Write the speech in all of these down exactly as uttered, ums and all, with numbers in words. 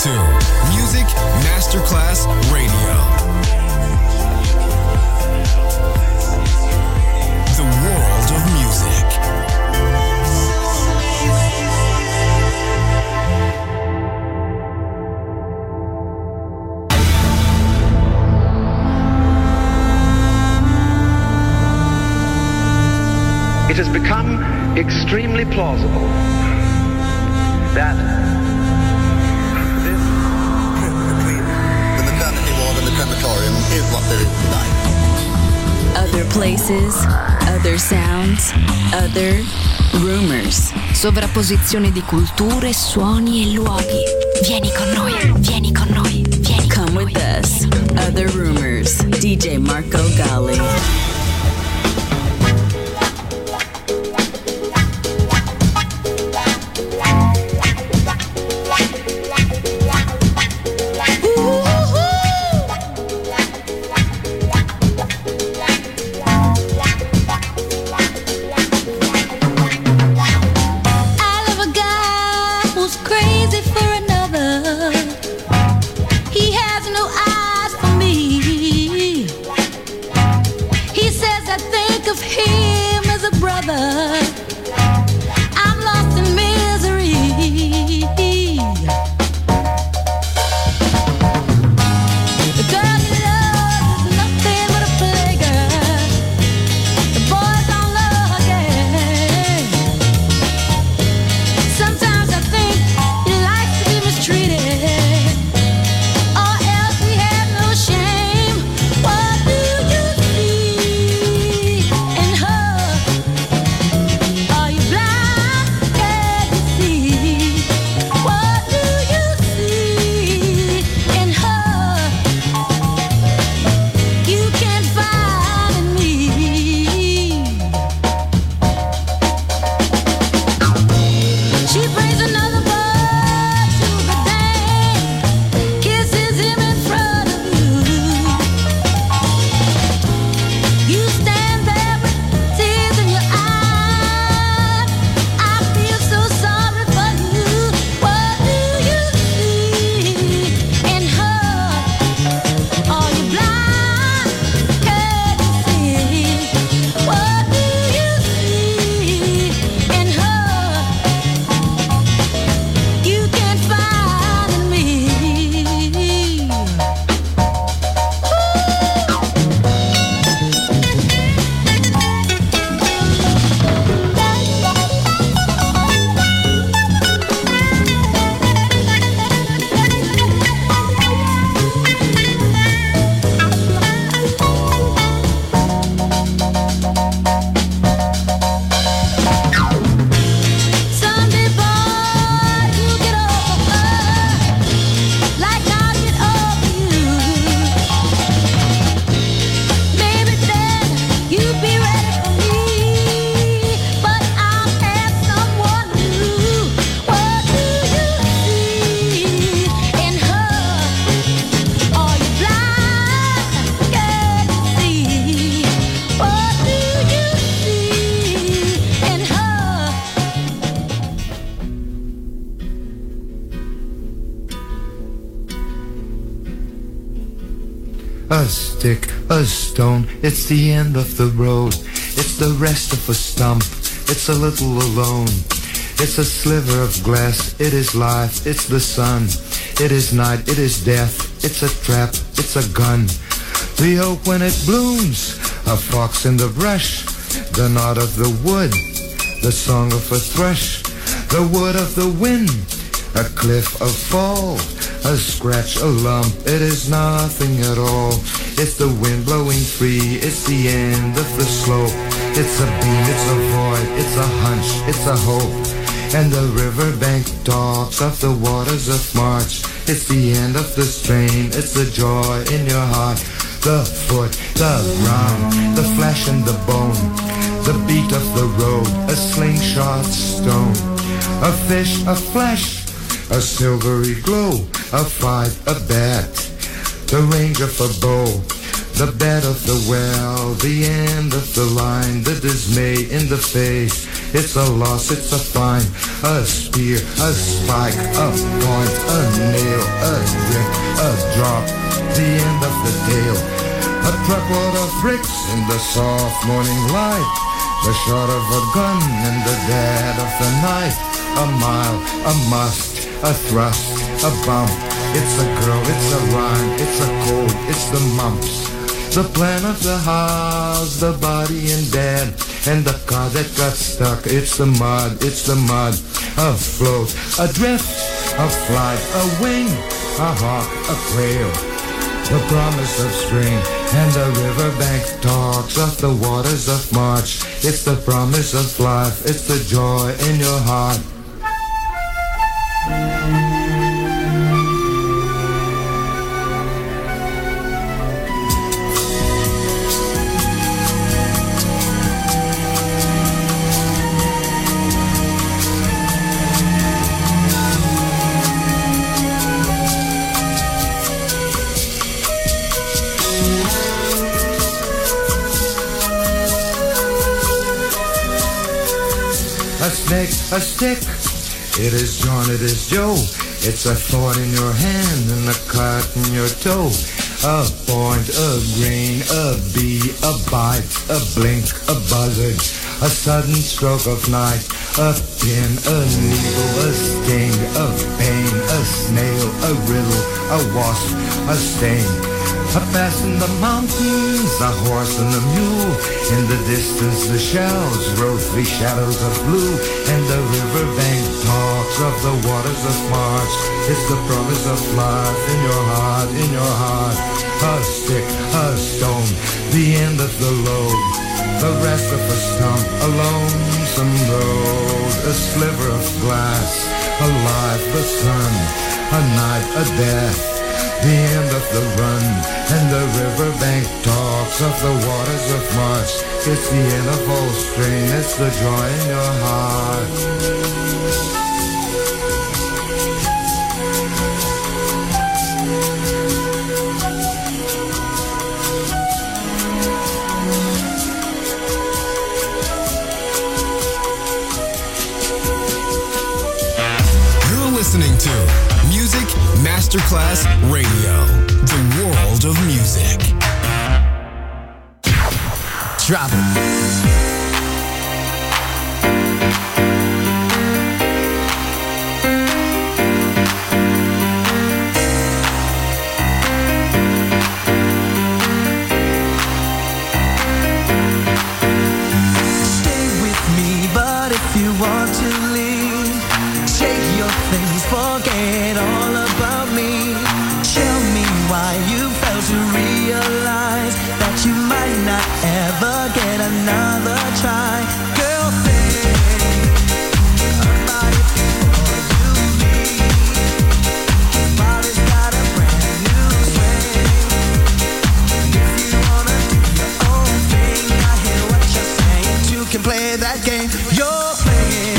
to Music Masterclass Radio. The world of music. It has become extremely plausible that this between the maternity ward and the crematorium is what there is tonight. Other places, other sounds, other rumors. Sovrapposizione di culture, suoni e luoghi. Vieni con noi, vieni con noi, vieni con Come with us. Other rumors. D J Marco Gally. A stick, a stone, it's the end of the road. It's the rest of a stump, it's a little alone. It's a sliver of glass, it is life, it's the sun. It is night, it is death, it's a trap, it's a gun. The oak when it blooms, a fox in the brush. The knot of the wood, the song of a thrush. The wood of the wind, a cliff, a fall. A scratch, a lump, it is nothing at all. It's the wind blowing free, it's the end of the slope. It's a beam, it's a void, it's a hunch, it's a hope. And the riverbank talks of the waters of March. It's the end of the strain, it's the joy in your heart. The foot, the ground, the flesh and the bone. The beat of the road, a slingshot stone. A fish, a flash, a silvery glow, a fight, a bet, the range of a bow, the bed of the well, the end of the line, the dismay in the face, It's a loss, it's a fine, a spear, a spike, a point, a nail, a drink, a drop, the end of the tale. A truckload of bricks in the soft morning light, the shot of a gun in the dead of the night. A mile, a must, a thrust, a bump. It's a girl, it's a rhyme, it's a cold, it's the mumps. The plan of the house, the body and dead, and the car that got stuck. It's the mud, it's the mud. A float, a drift, a flight, a wing, a hawk, a quail. The promise of spring, and the riverbank talks of the waters of March. It's the promise of life, it's the joy in your heart. A snake, a stick, it is John, it is Joe. It's a thorn in your hand and a cut in your toe. A point, a grain, a bee, a bite, a blink, a buzzard, a sudden stroke of night. A pin, a needle, a sting, a pain, a snail, a riddle, a wasp, a stain. A pass in the mountains, a horse and a mule. In the distance the shells rose three shadows of blue. And the riverbank talks of the waters of March. It's the promise of life in your heart, in your heart. A stick, a stone, the end of the load. The rest of a stump, a lonesome road. A sliver of glass, a life, the sun. A night, a death, the end of the run. And the riverbank talks of the waters of March. It's the end of all spring, it's the joy in your heart. Listening to Music Masterclass Radio, the world of music. Drop it. Forget all about me. Tell me why you fail to realize that you might not ever get another try. Girl, think about it before you leave. Body's got a brand new swing. If you wanna do your own thing, I hear what you're saying. You can play that game you're playing.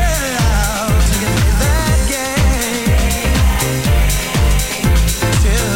Till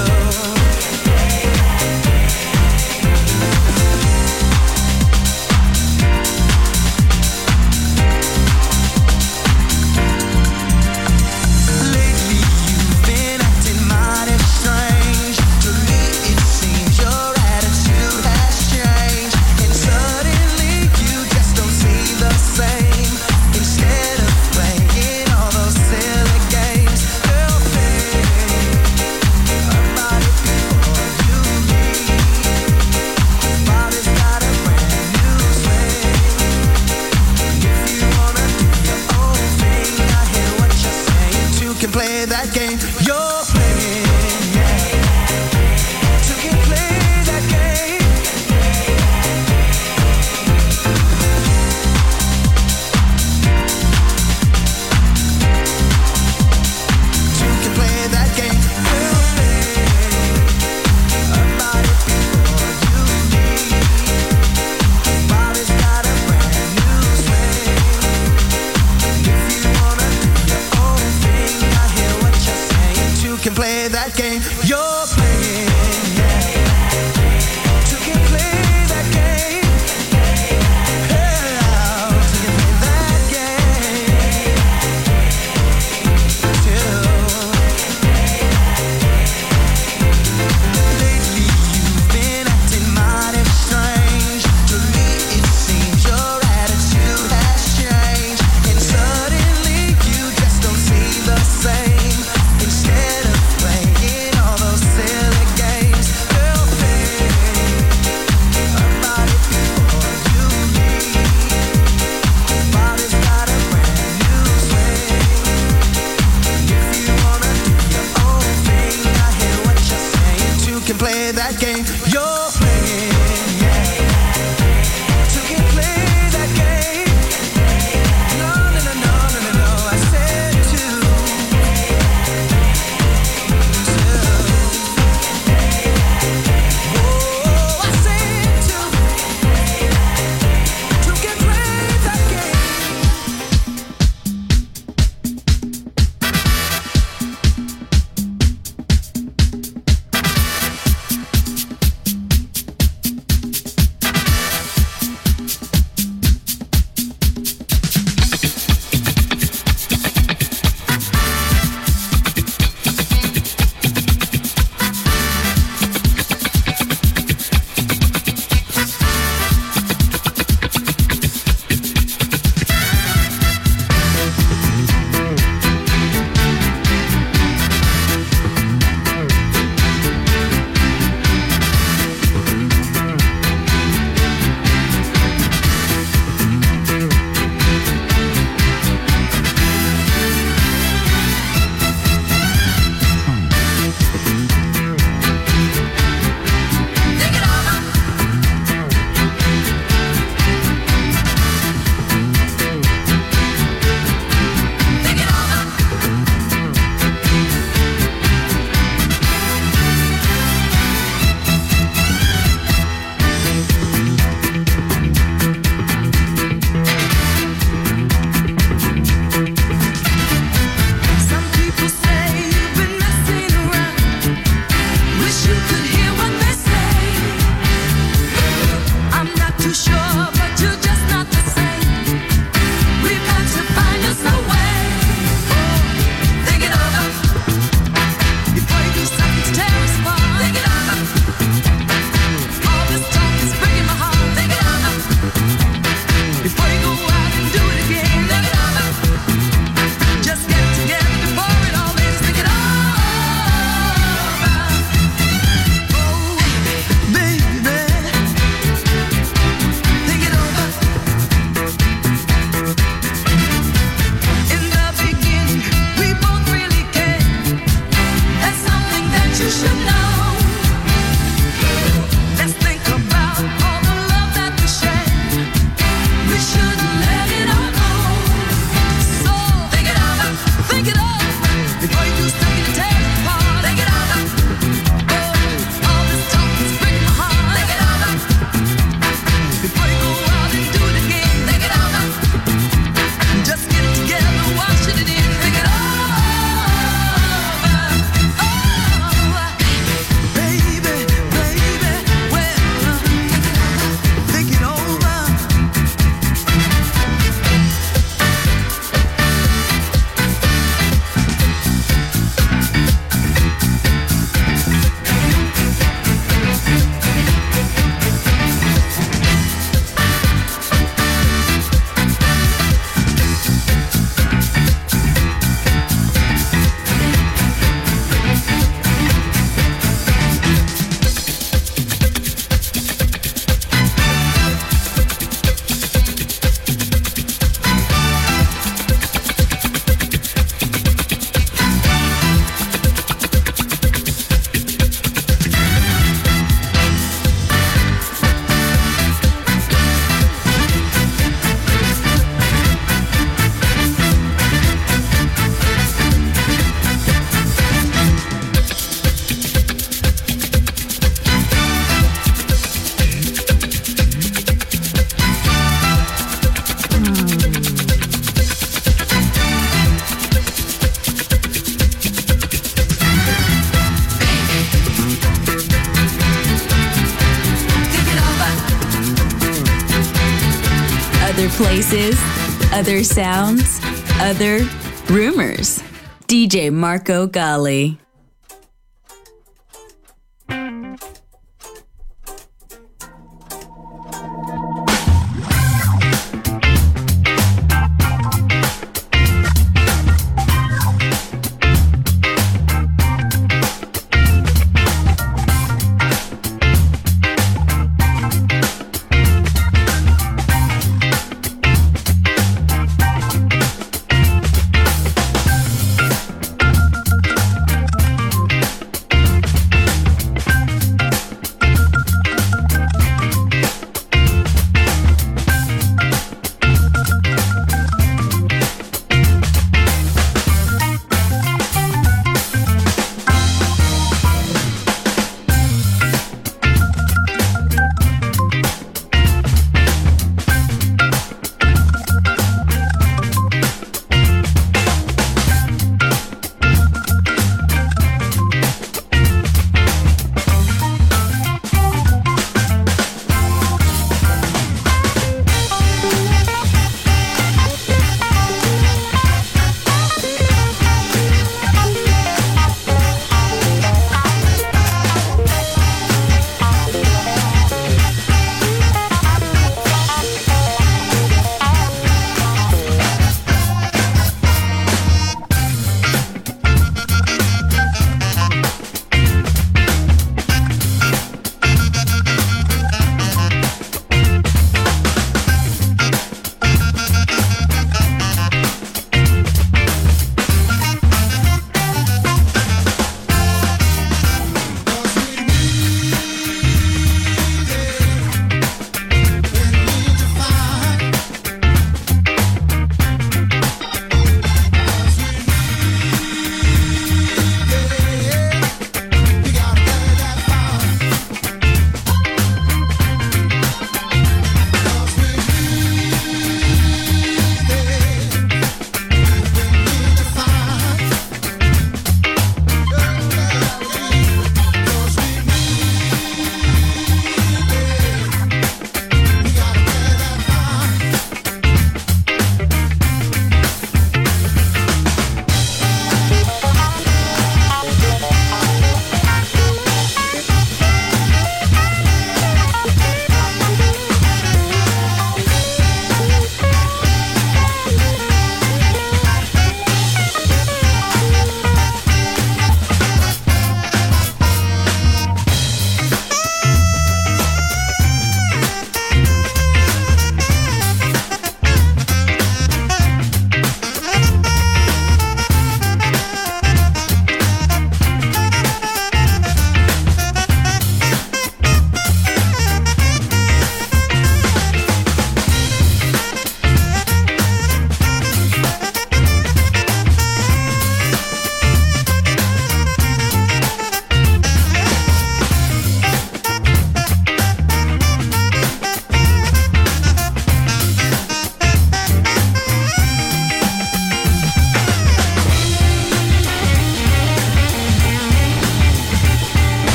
Places, other sounds, other rumors. D J Marco Gally.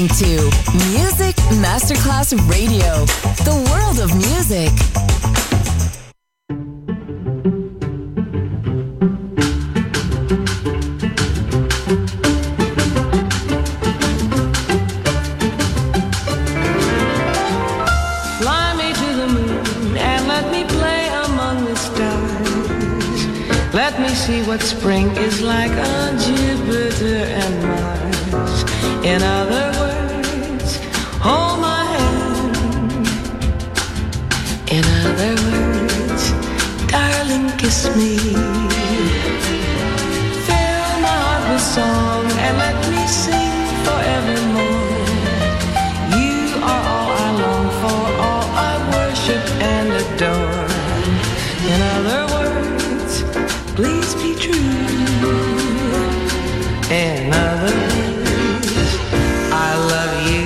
listening to Music Masterclass Radio, the world of music. Fly me to the moon and let me play among the stars. Let me see what spring is like on Jupiter and Mars. In other words, hold my hand. In other words, darling, kiss me. Fill my heart with song and let me sing forevermore. You are all I long for, all I worship and adore. In other words, please be true. In other words, I love you.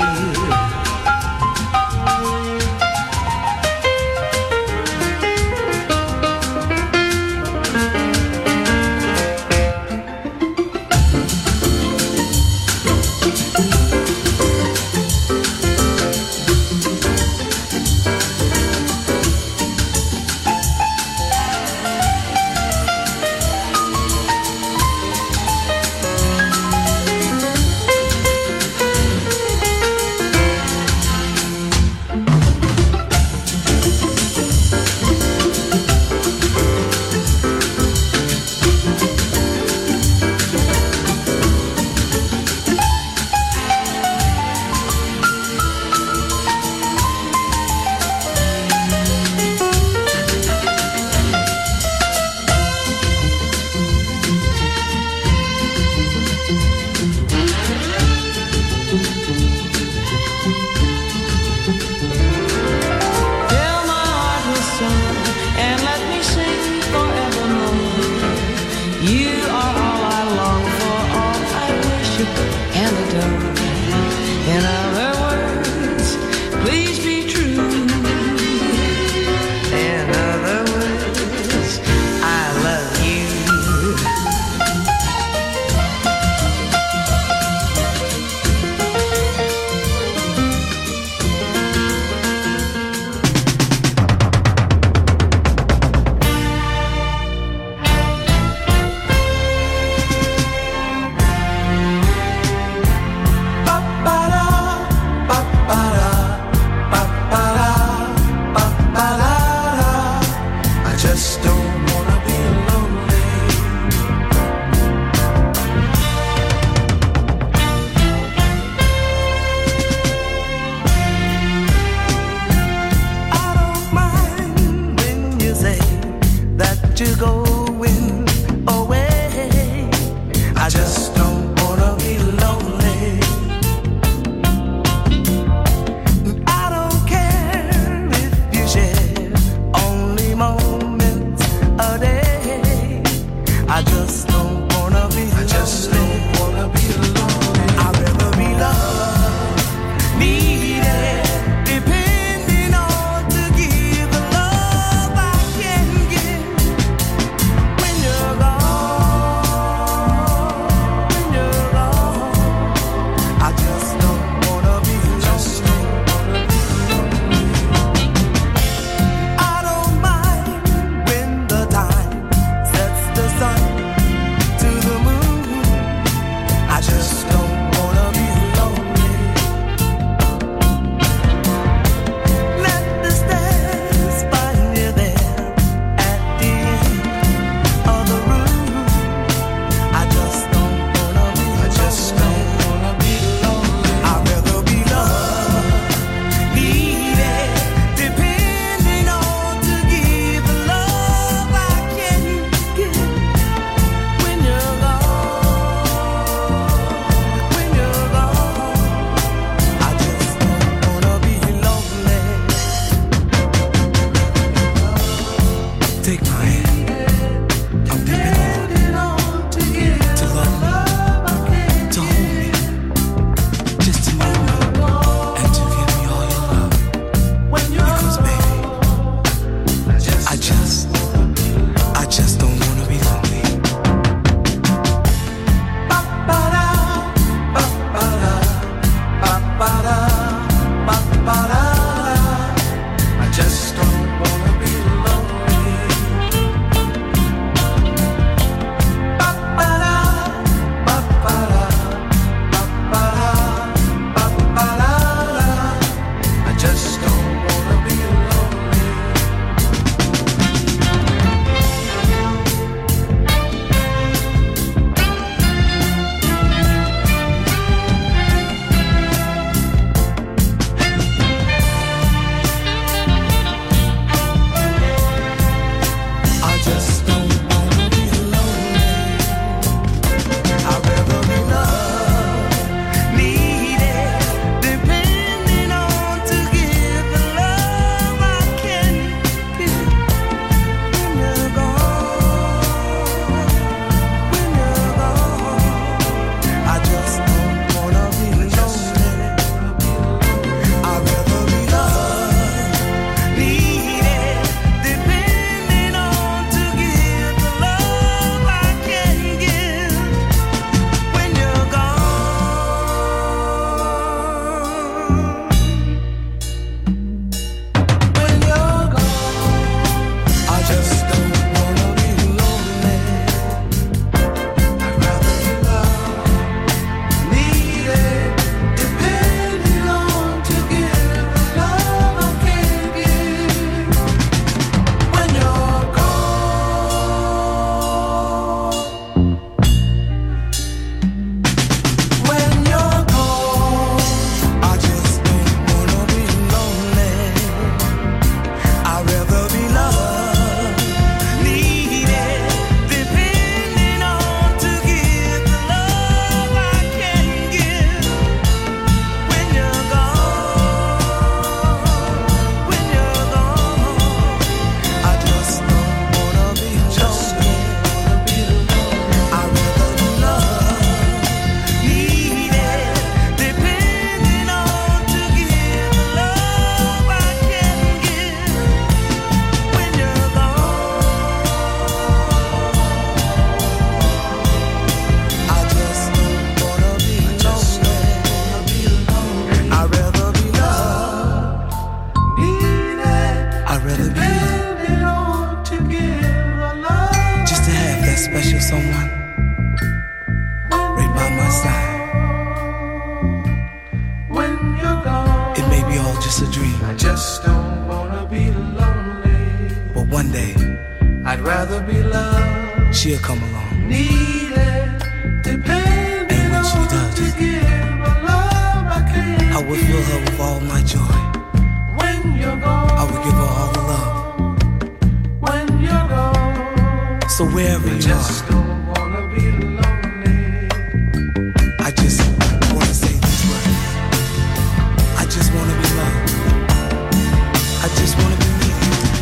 rather be loved. She'll come along. Need it, depending on she does, to give a love I can't. I would fill her with all my joy. When you're gone, I would give her all the love. When you're gone, so wherever I you just are, don't wanna be lonely. I just wanna say these words. I just wanna be loved. I just wanna be needed.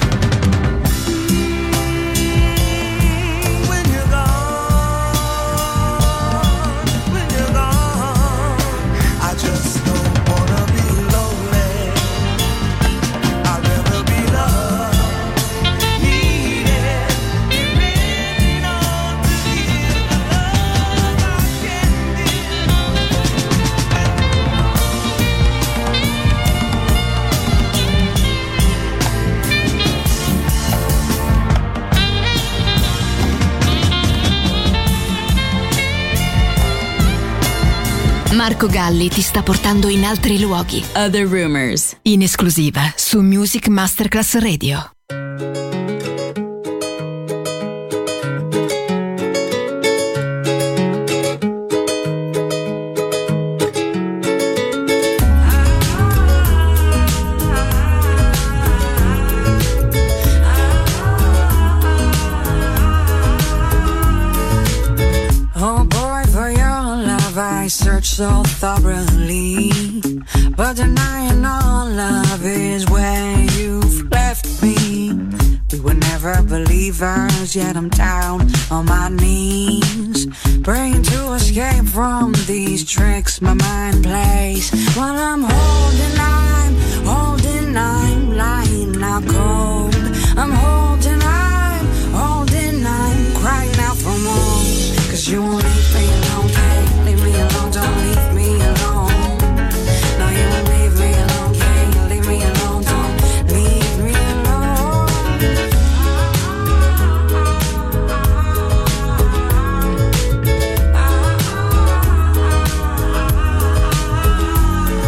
When you're gone, when you're gone, I just don't wanna be lonely. I'd rather be loved, needed, depending on to give the love I can Marco Galli ti sta portando in altri luoghi. Other Rumors, in esclusiva su Music Masterclass Radio. Oh boy, for your love I search so thoroughly, but denying all love is where you've left me. We were never believers, yet I'm down on my knees, praying to escape from these tricks my mind plays. While I'm holding, I'm holding, I'm lying out cold. I'm holding, I'm holding, I'm crying out for more. Cause you won't leave me alone, can't leave me alone, don't leave me alone. No, you won't leave me alone, can't leave me alone, don't leave me alone.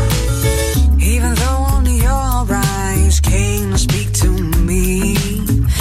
Even though only your eyes came to speak to me,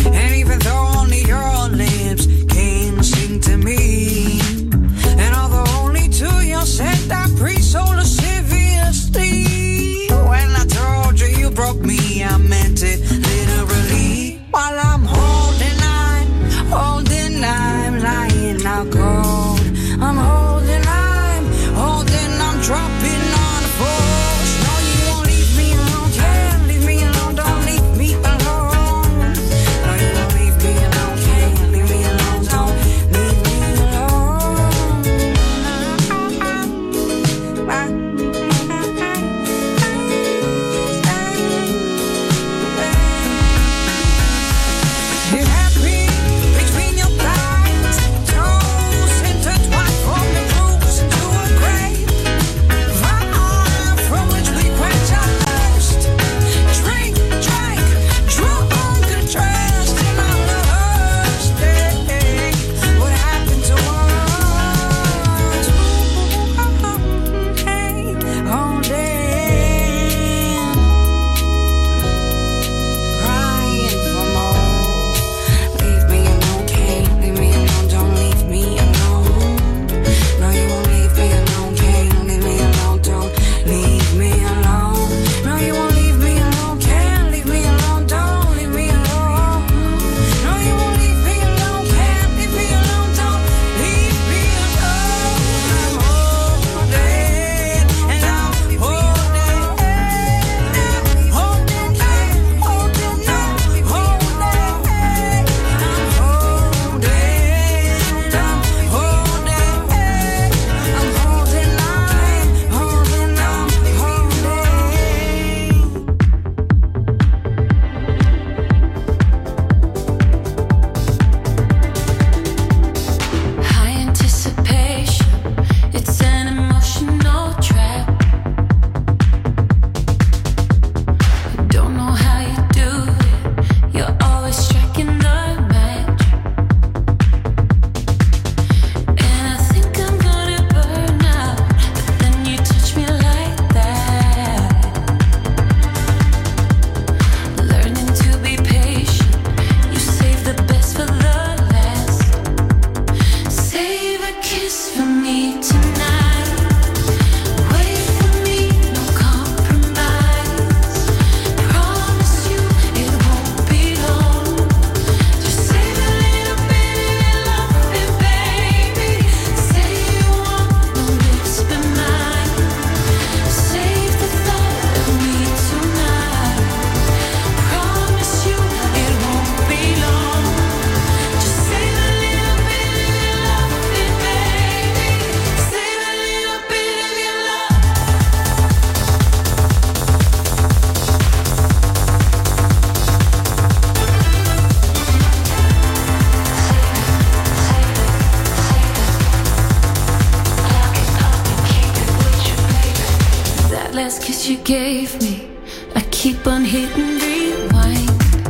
that you gave me, I keep on hitting rewind.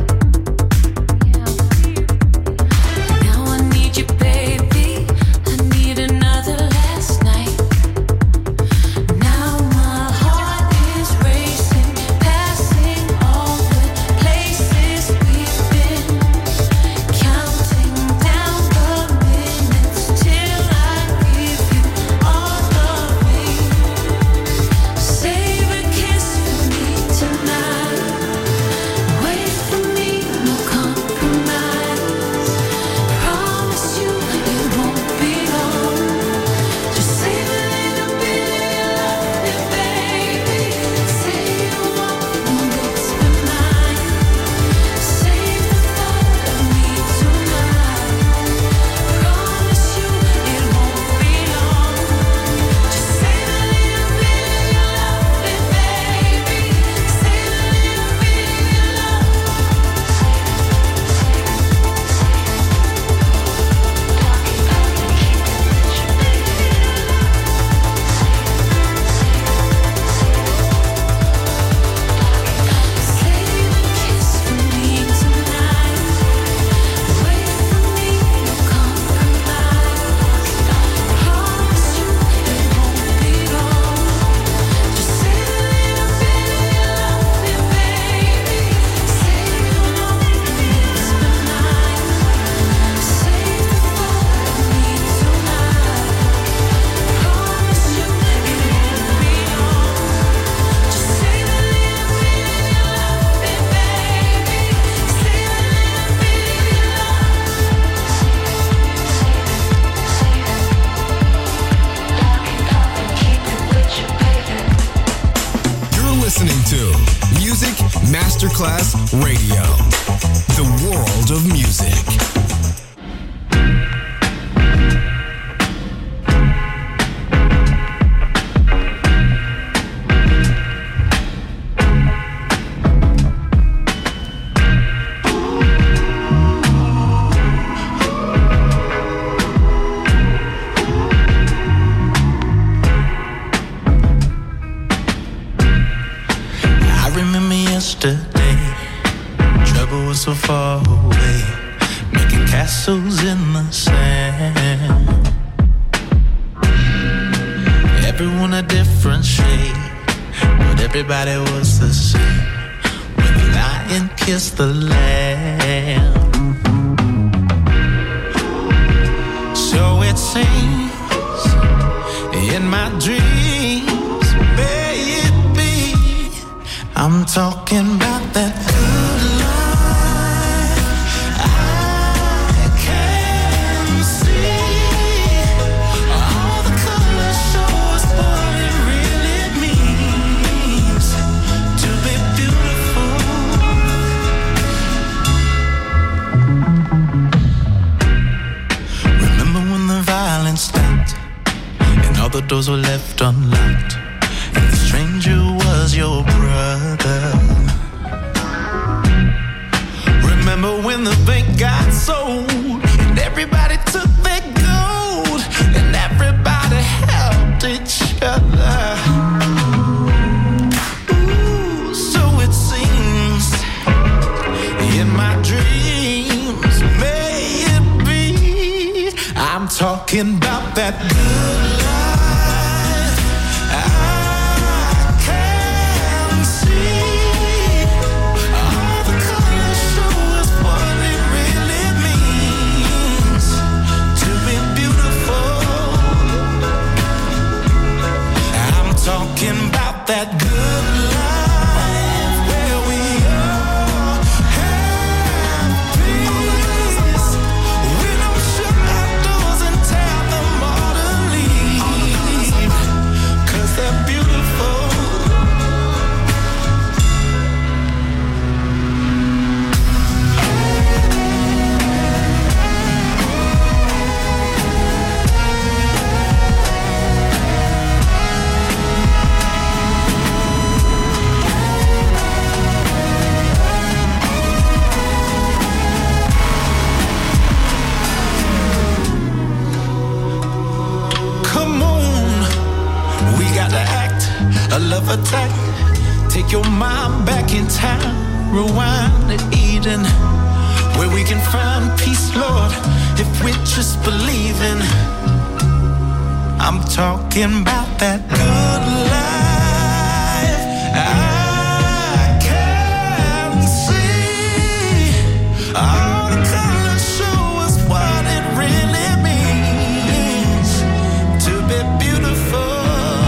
Now I need you, baby. I need another last night. Now my heart is racing, passing all the places we've been, counting down the minutes till I give you all of me. Save a kiss for me tonight. Wait for me, no compromise. Promise you it won't be long. Just save a little bit of your love, baby. Say you won't, and it's been mine. Save the thought of me tonight. Promise you it won't be long. Just save a little bit of your love, baby. Save a little bit of your love. Save a kiss for me tonight. Wait for me, no compromise. Promise you it won't be long. Just save a little bit of your love, baby. Say you won't, and it's been mine. Save the thought of me tonight. Promise you it won't be long. Just save a little bit of your love, baby. Save a little bit of your You're listening to Music Masterclass Radio, the world of music. I remember yesterday, trouble was so far away, making castles in the sand. Everyone a different shade, but everybody was the same when the lion kissed the lamb. So it seems in my dreams, baby, I'm talking about that good life. I can see all the colors show us what it really means to be beautiful. Remember when the violence stopped and all the doors were left unlocked, and the stranger was your brother. Remember when the bank got sold and everybody took their gold and everybody helped each other. Ooh, so it seems in my dreams, may it be, I'm talking about that good life. I can see all the colors show us what it really means to be beautiful. I'm talking about that good life where we all have peace. We don't shut our doors and tell them all to leave, 'cause they're beautiful. Come on, we got to act a love attack. Take your mind back in time, rewind to Eden, where we can find peace, Lord, if we just believe in. I'm talking about that good life. I can see all the colors show us what it really means to be beautiful.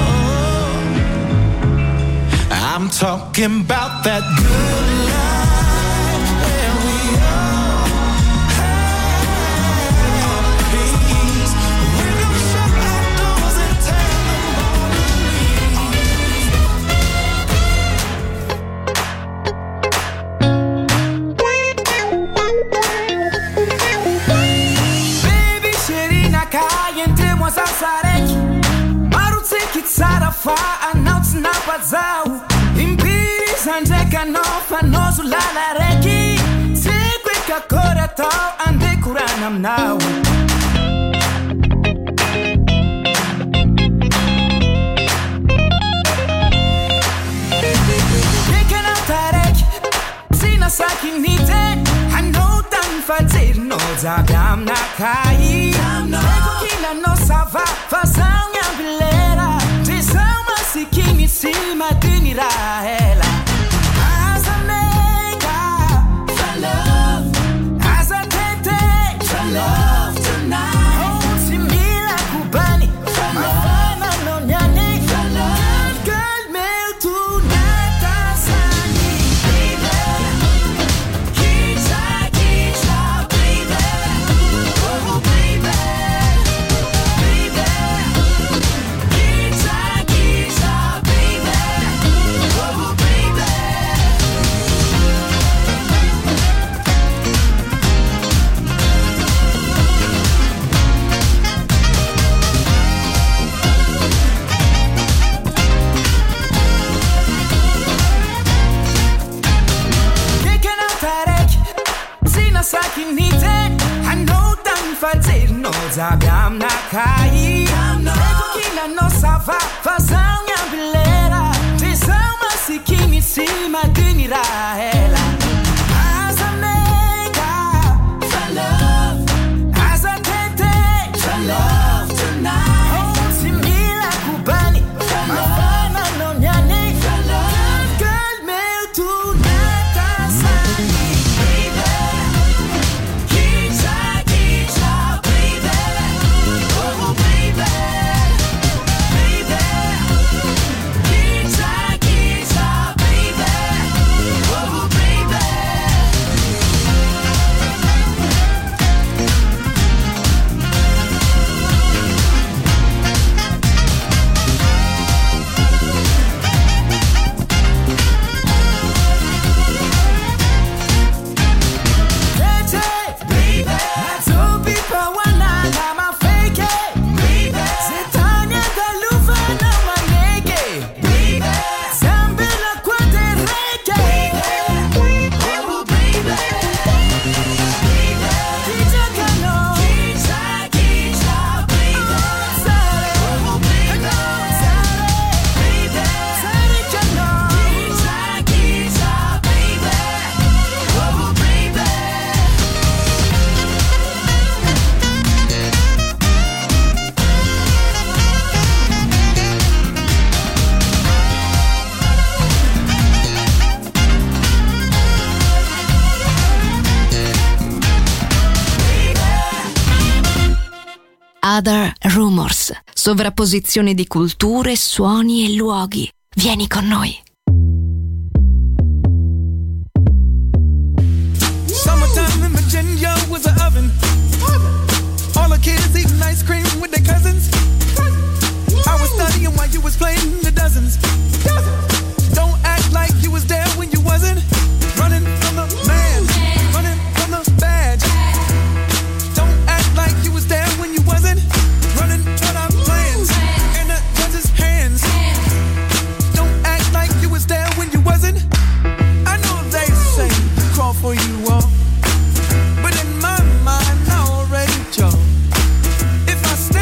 I'm talking about that good life where we all have peace. We're gonna shut our doors and tell them all to leave. Baby, Sherina kayende mwasasareki marutiki tsarafa announce napazau impiri sanjeka nofa nozulala reki sikwe kakora to ande kuranam now. Yekana tarek sina sakinite hano tan fatir no zagam nakai ego kila no sava fasanga bilera tisama sikini sima dinira hela. As I make up for love, as I take for love tonight. Oh, simila kubani, mafana no nyani for love. Girl, mail tonight, asani, baby. Kita, kita, baby. Oh, baby, baby. Kita, kita, baby. Oh, baby. Kicking out tarek, sina sakinite, hano tan fatir no zagam nakai. Ego kila no sava, fasanga bilera, tisama sikini sima dinira hela. As I make up for love, as I take for love tonight. Oh, simila kubani, mafana no nyani for love. Girl, mail tonight, asani, baby. Kita, kita, baby. Oh, baby, baby. Kita, kita, baby. Oh, baby. Other Rumors, sovrapposizione di culture, suoni e luoghi. Vieni con noi. Summertime in Virginia was an oven. All the kids eating ice cream with their cousins. I was studying while you was playing the dozens. Don't act like you was there when you wasn't. Running from the man, running from the badge. Don't act like you was there when you wasn't. Running for our plans in the judge's hands. Don't act like you was there when you wasn't. I know they say crawl for you all, but in my mind I already chose. If I stay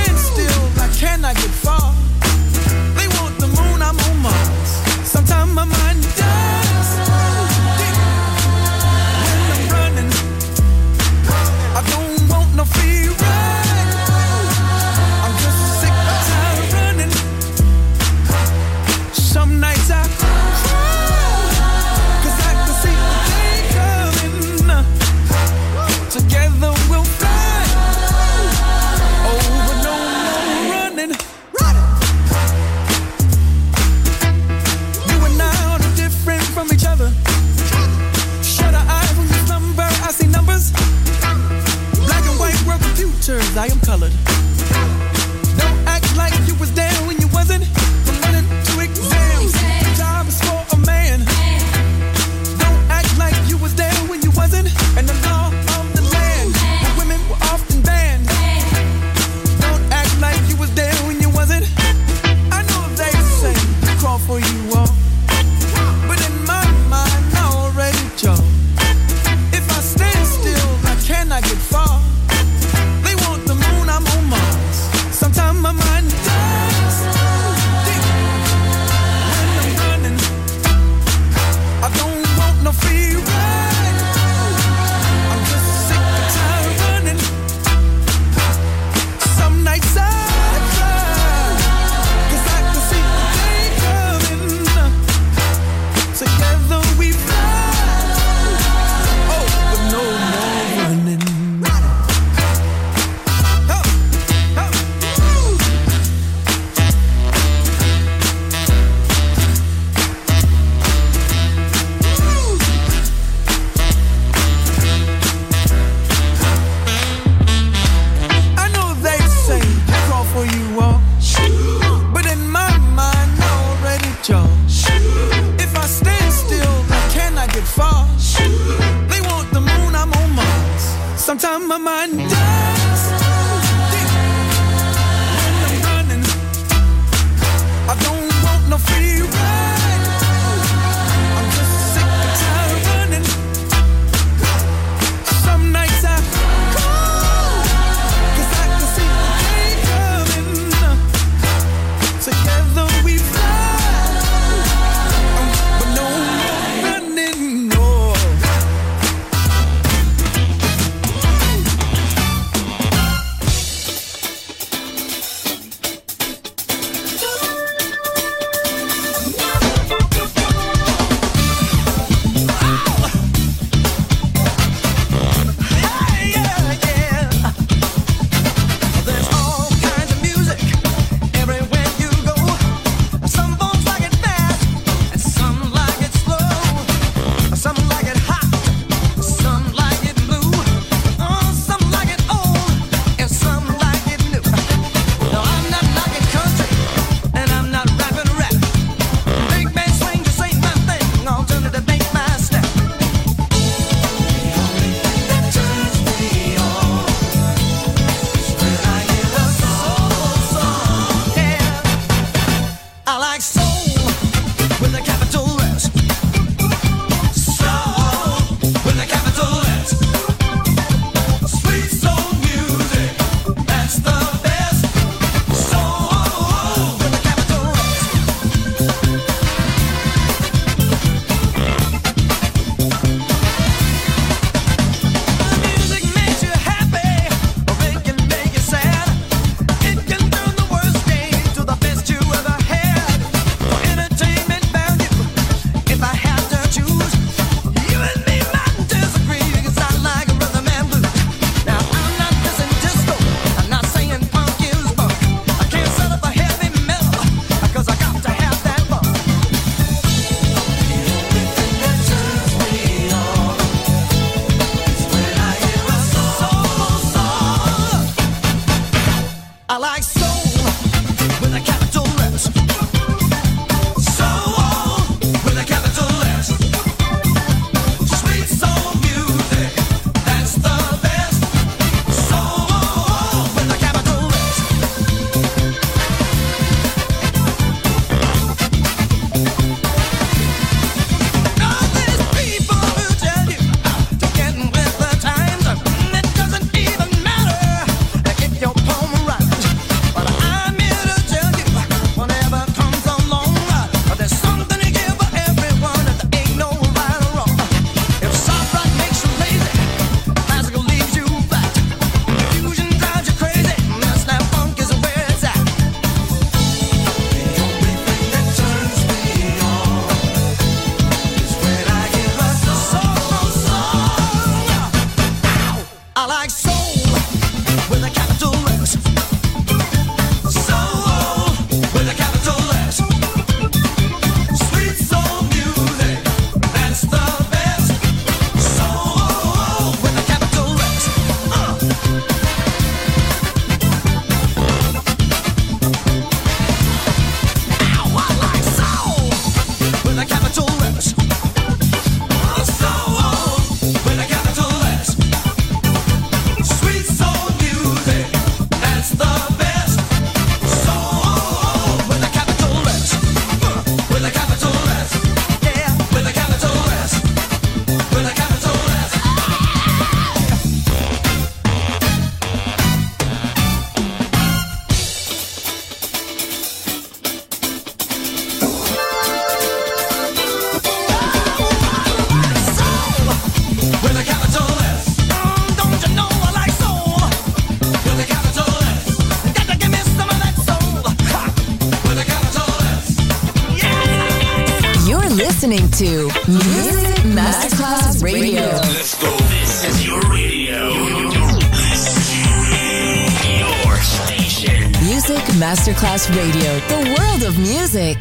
to Music Masterclass Radio. Let's go. This is your radio. Your station. Music Masterclass Radio. The world of music.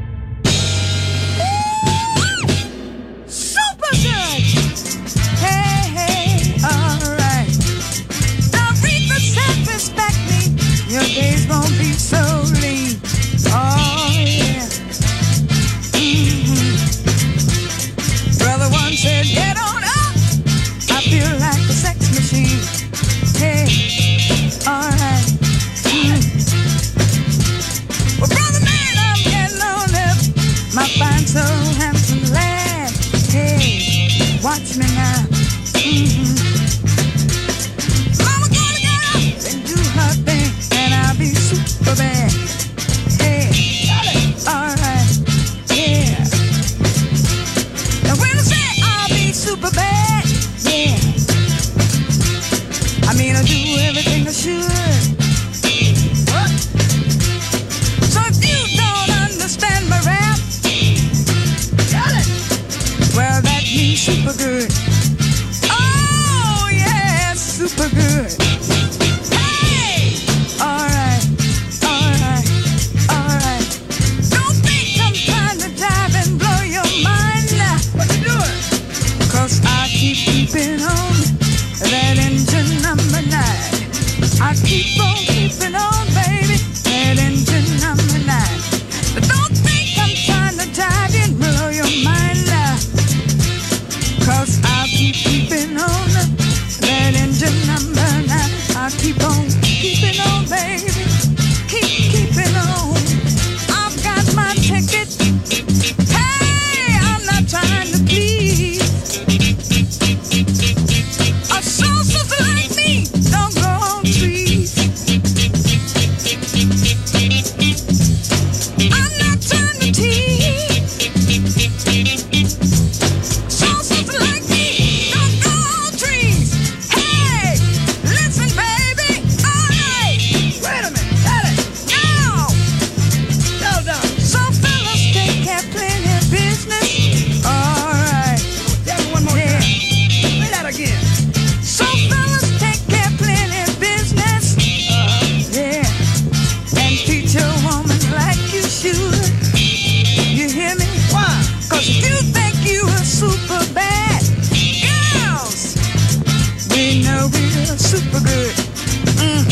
Super good. Hey, hey, all right. Now read the set, respect me. Your days won't be so lean. Oh, yeah. Mm-hmm. Brother one said, get on up. I feel like a sex machine. Hey, all right. Mm. Well, brother man, I'm getting on up. My fine, so handsome lad. Hey, watch me now. Mm-hmm. Mama gonna get up and do her thing, and I'll be super bad. Hey, all right, yeah. Now when I say I'll be super bad, yeah, I mean I do everything I should. What? So if you don't understand my rap, got it. Well, that means super good. Oh yeah, super good. Hey, all right, all right, all right. Don't think I'm trying to dive and blow your mind now. What you doing? 'Cause I keep keeping on that engine number nine. I keep on keeping on, baby, that engine number nine. But don't think I'm trying to dive and blow your mind now. 'Cause I keep keeping on that engine number nine. I keep on keeping on, baby, keep keeping on. I've got my ticket. Hey, I'm not trying to please. A soul sister like me don't go on trees. I'm not trying to tease. Soul sister like me don't go on trees. Hey, listen, baby. All right. Wait a minute. Got it. Now. Hold on. So fellas, take care, plenty of business. All right. Tell me one more time. Say that again. So fellas, take care, plenty of business. Uh-huh. Yeah. And treat your woman like you should. You hear me? Why? 'Cause if you think you are super bad, girls, we know we're super good. Mm.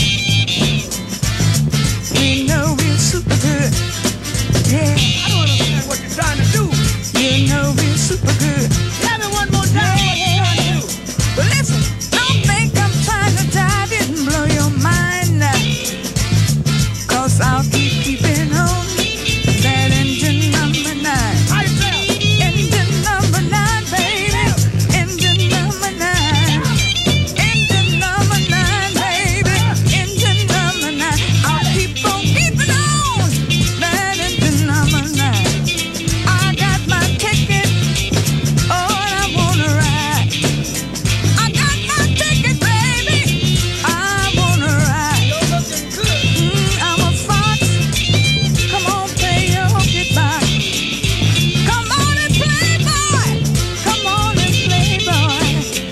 We know we're super good. Yeah. I don't understand what you're trying to do. You know we're super good. Tell me one more time what you're trying to do. Well, listen, don't think I'm trying to dive in and blow your mind now. 'Cause I'll keep keeping on that engine number nine. How you feel? Engine number nine, baby. Engine number nine. Engine number nine, baby. Engine number nine. I'll keep on keeping on that engine number nine. I got my ticket. Oh, and I wanna ride. I got my ticket, baby. I wanna ride. You're looking good. Mm, I'm a fox. Come on, play your goodbye. Come on and play, boy. Come on and play, boy.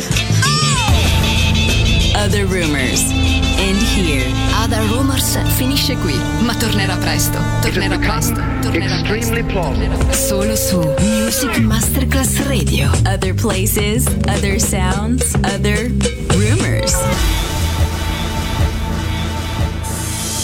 Oh! Other Rumors. And here. Other Rumors finisce qui, ma tornerà presto. Tornerà presto. Tornerà Extremely plausible. solo su Music Masterclass Radio. Other places, other sounds, other rumors.